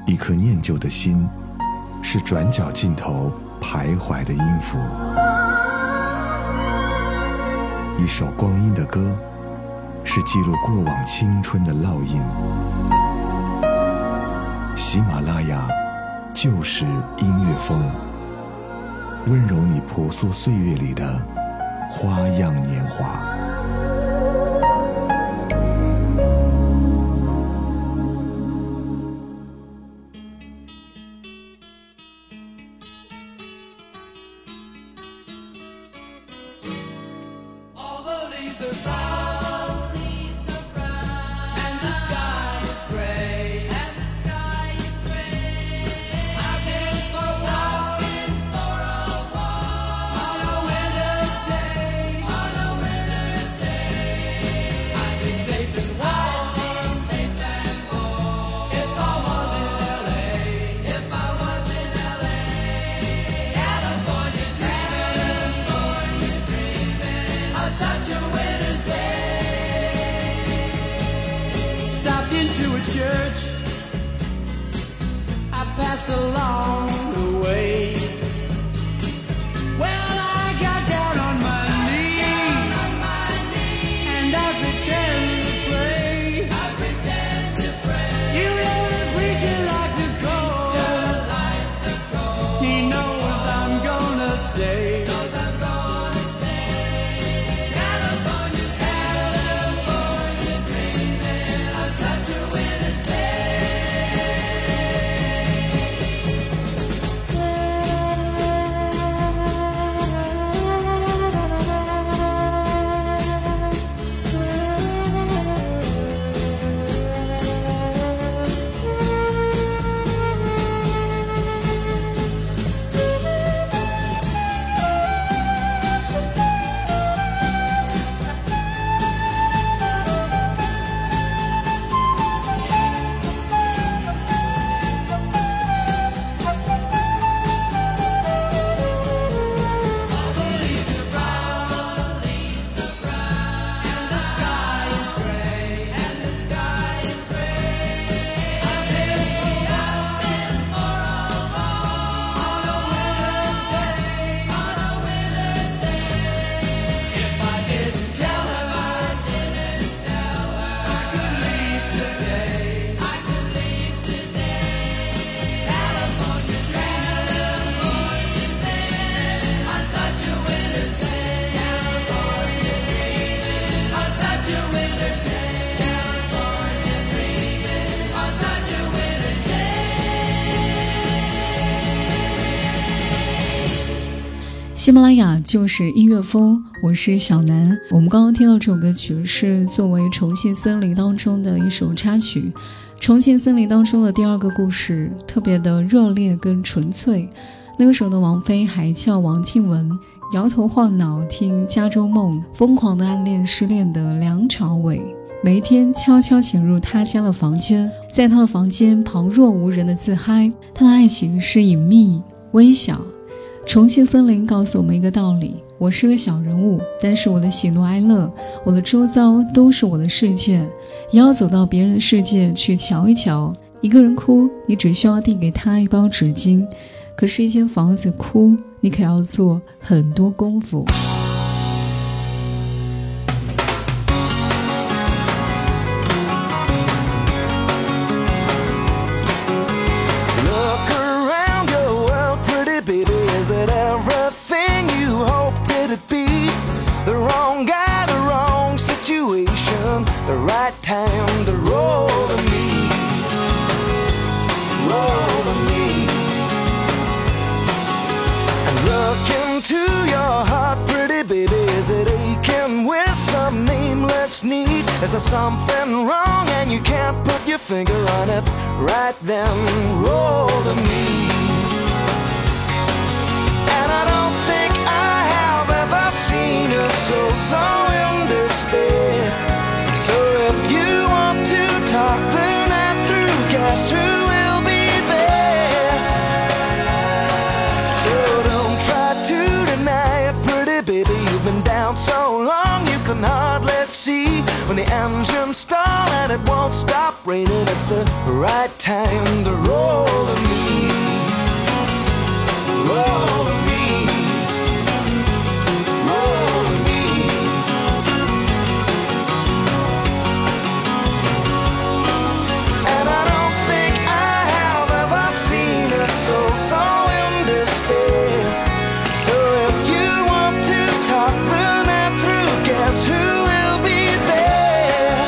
一颗念旧的心，是转角尽头徘徊的音符。一首光阴的歌，是记录过往青春的烙印。喜马拉雅就是音乐风，温柔你婆娑岁月里的花样年华。 Stopped into a church, I passed along the way. Well, I got down on my knees and I pretend to pray. You know the preacher like the cold, he knows I'm gonna stay. 《喜马拉雅就是音乐风》，我是小南。我们刚刚听到这首歌曲是作为《重庆森林》当中的一首插曲。《重庆森林》当中的第二个故事特别的热烈跟纯粹。那个时候的王菲还叫王靖雯，摇头晃脑听《加州梦》，疯狂的暗恋失恋的梁朝伟，每一天悄悄潜入他家的房间，在他的房间旁若无人的自嗨。他的爱情是隐秘微小。重庆森林告诉我们一个道理，我是个小人物，但是我的喜怒哀乐，我的周遭都是我的世界，也要走到别人的世界去瞧一瞧。一个人哭，你只需要递给他一包纸巾，可是一间房子哭，你可要做很多功夫。 Time to roll to me, roll to me, and look into your heart, pretty baby. Is it aching with some nameless need? Is there something wrong and you can't put your finger on it? Right then, roll to me. And I don't think I have ever seen a soul so in despair. So if you want to talk the night through, guess who will be there? So don't try to deny it, pretty baby. You've been down so long you can hardly see when the engines stall and and it won't stop raining. It's the right time to roll to me. Roll to me. Roll to me. And I don't think I have ever seen a soul so in despair. So if you want to talk the night through, guess who will be there?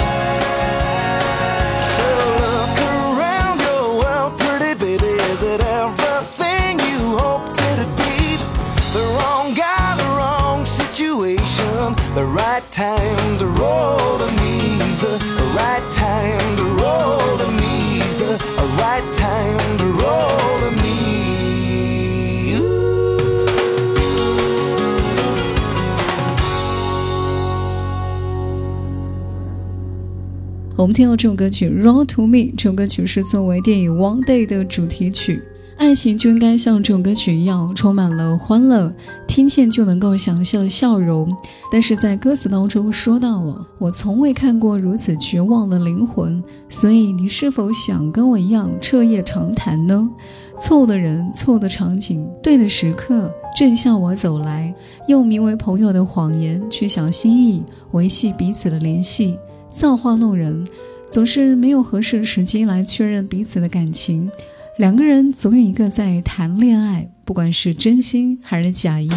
So look around your world, pretty baby. Is it everything you hoped it'd be? The wrong guy, the wrong situation. The right time to roll to me. The right time to roll to me. The right time to roll to me. Ooh. 我们听到这首歌曲《Roll to Me》，这首歌曲是作为电影《One Day》的主题曲。爱情就应该像这首歌曲一样，充满了欢乐，听见就能够想象笑容。但是在歌词当中说到了，我从未看过如此绝望的灵魂，所以你是否想跟我一样彻夜长谈呢？错的人，错的场景，对的时刻，正向我走来，用名为朋友的谎言去想心意，维系彼此的联系。造化弄人，总是没有合适的时机来确认彼此的感情。两个人总有一个在谈恋爱，不管是真心还是假意。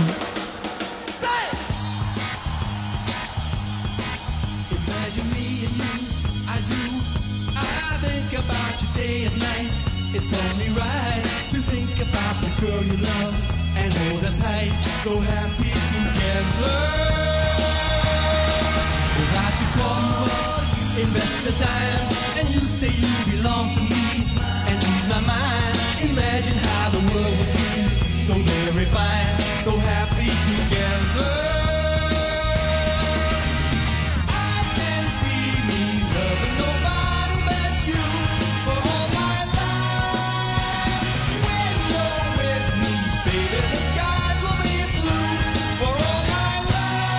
Invest the time, and you say you belong to me, and ease my mind. Imagine how the world would be so very fine, so happy together. I can see me loving nobody but you for all my life. When you're with me, baby, the skies will be blue for all my life.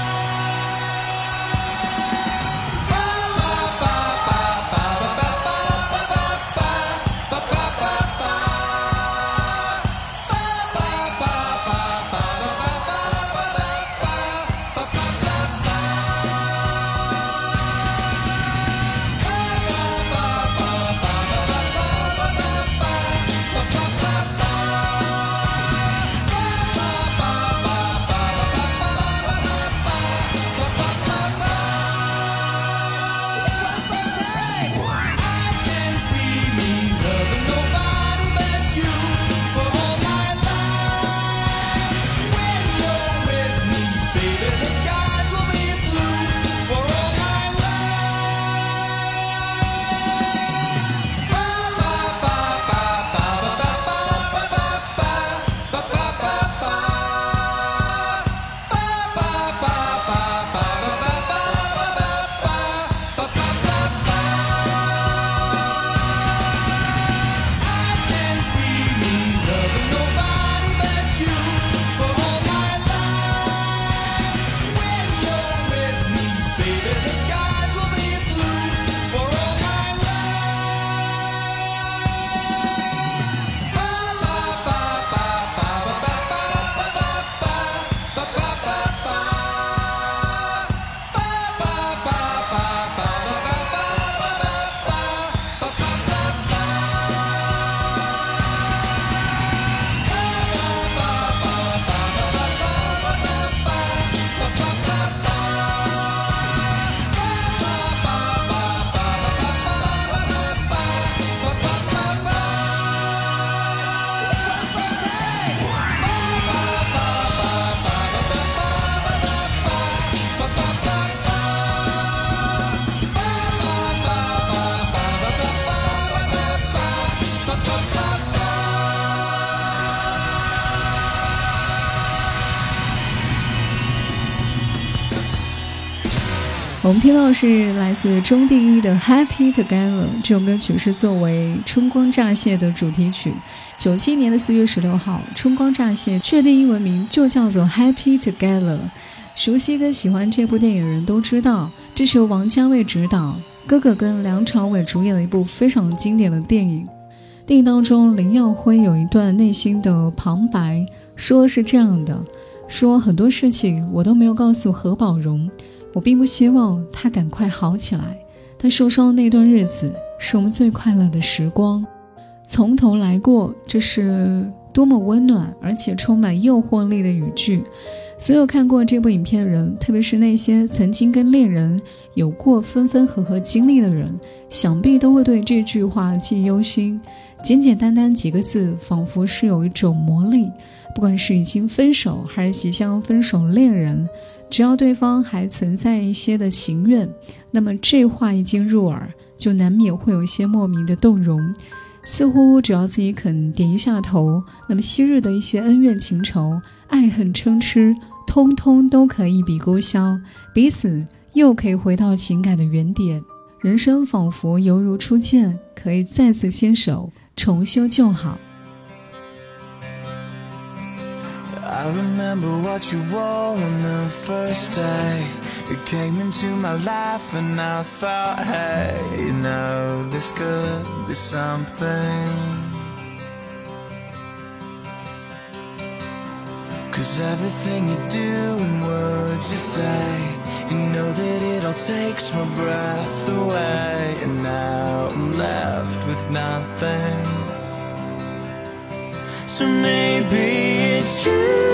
我们听到是来自钟定一的 Happy Together， 这首歌曲是作为春光乍泄的主题曲。97年的4月16号，春光乍泄确定英文名就叫做 Happy Together。熟悉跟喜欢这部电影的人都知道，这是由王家卫执导， 哥哥跟梁朝伟主演了一部非常经典的电影。电影当中，林耀辉有一段内心的旁白，说是这样的，说很多事情我都没有告诉何宝荣，我并不希望他赶快好起来，他受伤的那段日子是我们最快乐的时光，从头来过，这是多么温暖而且充满诱惑力的语句。所有看过这部影片的人，特别是那些曾经跟恋人有过分分合合经历的人，想必都会对这句话记忆犹新。简简单单几个字，仿佛是有一种魔力，不管是已经分手还是即将分手的恋人，只要对方还存在一些的情愿，那么这话一经入耳，就难免会有一些莫名的动容，似乎只要自己肯点一下头，那么昔日的一些恩怨情仇、爱恨嗔痴，通通都可以一笔勾销，彼此又可以回到情感的原点，人生仿佛犹如初见，可以再次牵手，重修旧好。 I remember what you wore on the first day You came into my life and I thought, hey, you know, this could be something 'Cause everything you do and words you say You know that it all takes my breath away And now I'm left with nothing So maybe it's true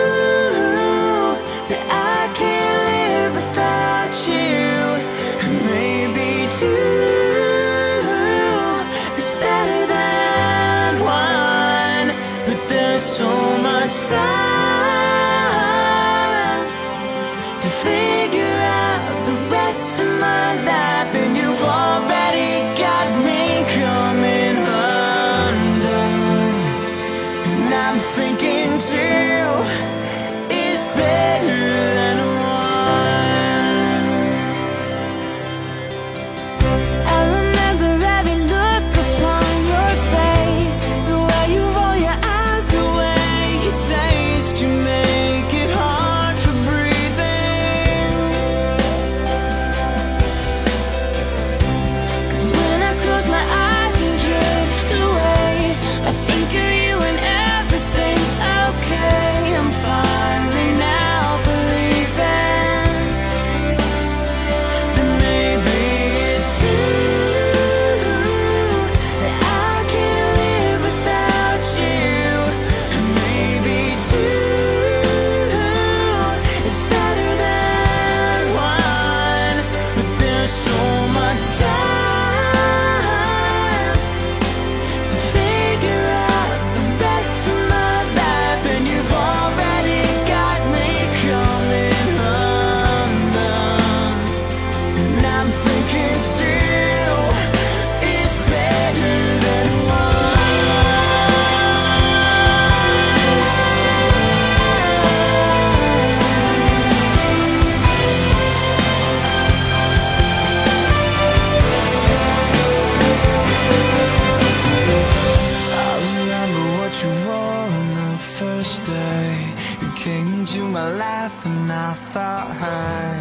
that I can't live without you And maybe two is better than one But there's so much time to figure out the rest of my life And you've already got me coming undone And I'm thinking two is better than one I remember every look upon your face The way you roll your eyes, the way you taste You make it hard for breathing 'Cause when I close my eyes and drift away I think of you and everything's okay I'm finally now believing Then maybe it's true that I can't live without you And maybe two is better than one But there's so much time to figure out the rest of my life And you've already got me coming undone And I'm thinking two is better than I remember what you wore on the first day You came into my life and I thought, hey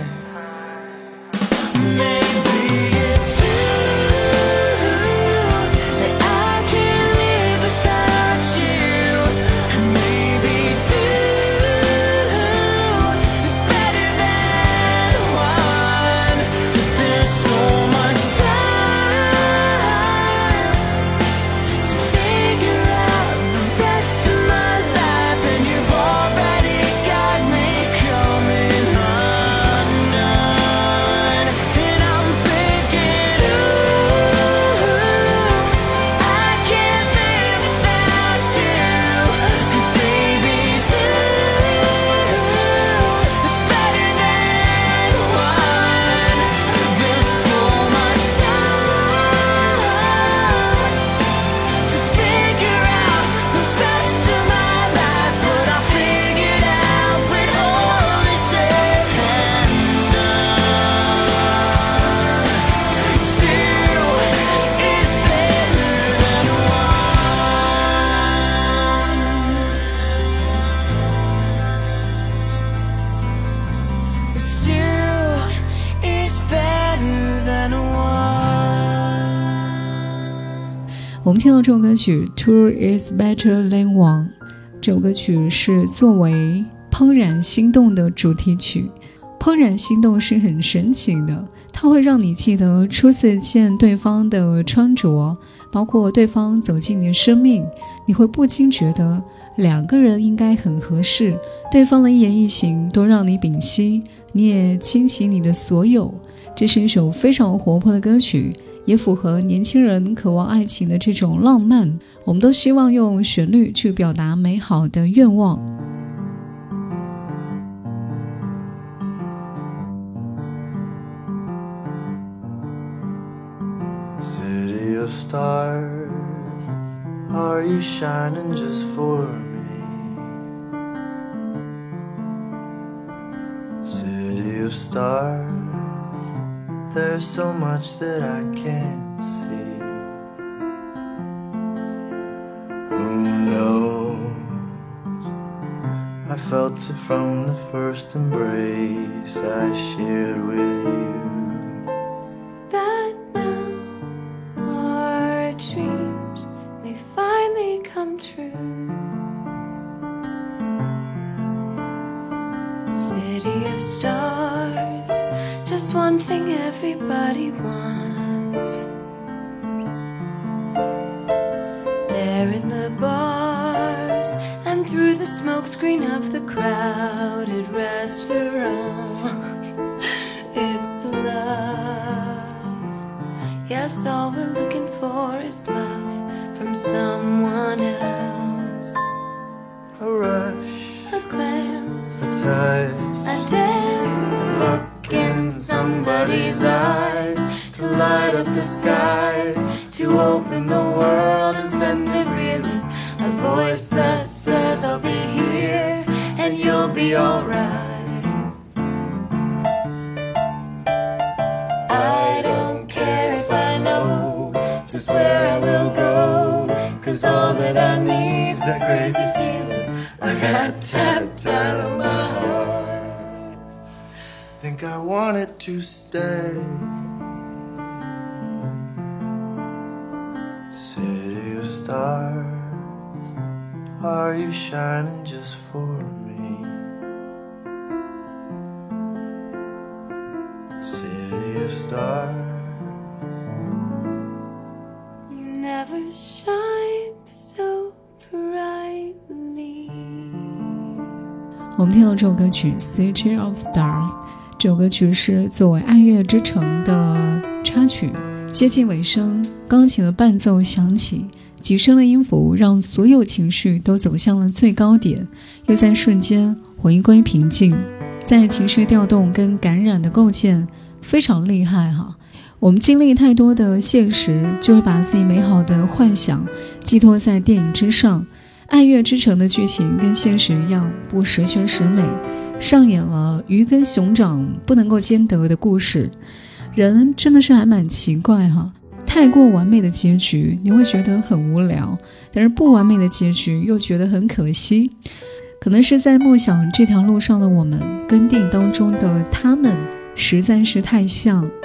Maybe it's true that I can't live without you And maybe two is better than one But there's so much time to figure out the rest of my life And you've already got me coming undone 我们听到这首歌曲 Two is better than one， 这首歌曲是作为怦然心动的主题曲。怦然心动是很神奇的，它会让你记得初次见对方的穿着，包括对方走进你的生命，你会不禁觉得两个人应该很合适，对方的一言一行都让你屏息，你也倾其你的所有。这是一首非常活泼的歌曲，也符合年轻人渴望爱情的这种浪漫。我们都希望用旋律去表达美好的愿望。 City of stars, are you shining just for me? City of stars, there's so much that I can't see. Who knows? I felt it from the first embrace I shared with you. That now our dreams may finally come true. City of stars, just one thing everybody wants. There in the bars and through the smokescreen of the crowded restaurants, it's love. Yes, all we're looking for is love from someone else. A rush, A glance, a touch, a dance, a look in somebody's eyes, to light up the skies, to open the world and send it reeling. A voice that says I'll be here and you'll be alright. I don't care if I know just where I will go, 'cause all that I need's this crazy feeling I got tapped out of my heart. think I want it to stay. City of stars, are you shining just for me? City of stars, You never shine so brightly. 我们听到这首歌曲 City of Stars， 这首歌曲是作为《爱乐之城》的插曲。接近尾声，钢琴的伴奏响起，几声的音符让所有情绪都走向了最高点，又在瞬间回归平静。在情绪调动跟感染的构建非常厉害哈。我们经历太多的现实，就会把自己美好的幻想寄托在电影之上。爱乐之城的剧情跟现实一样，不十全十美，上演了鱼跟熊掌不能够兼得的故事。人真的是还蛮奇怪哈，太过完美的结局你会觉得很无聊，但是不完美的结局又觉得很可惜。可能是在梦想这条路上的我们，跟电影当中的他们实在是太像。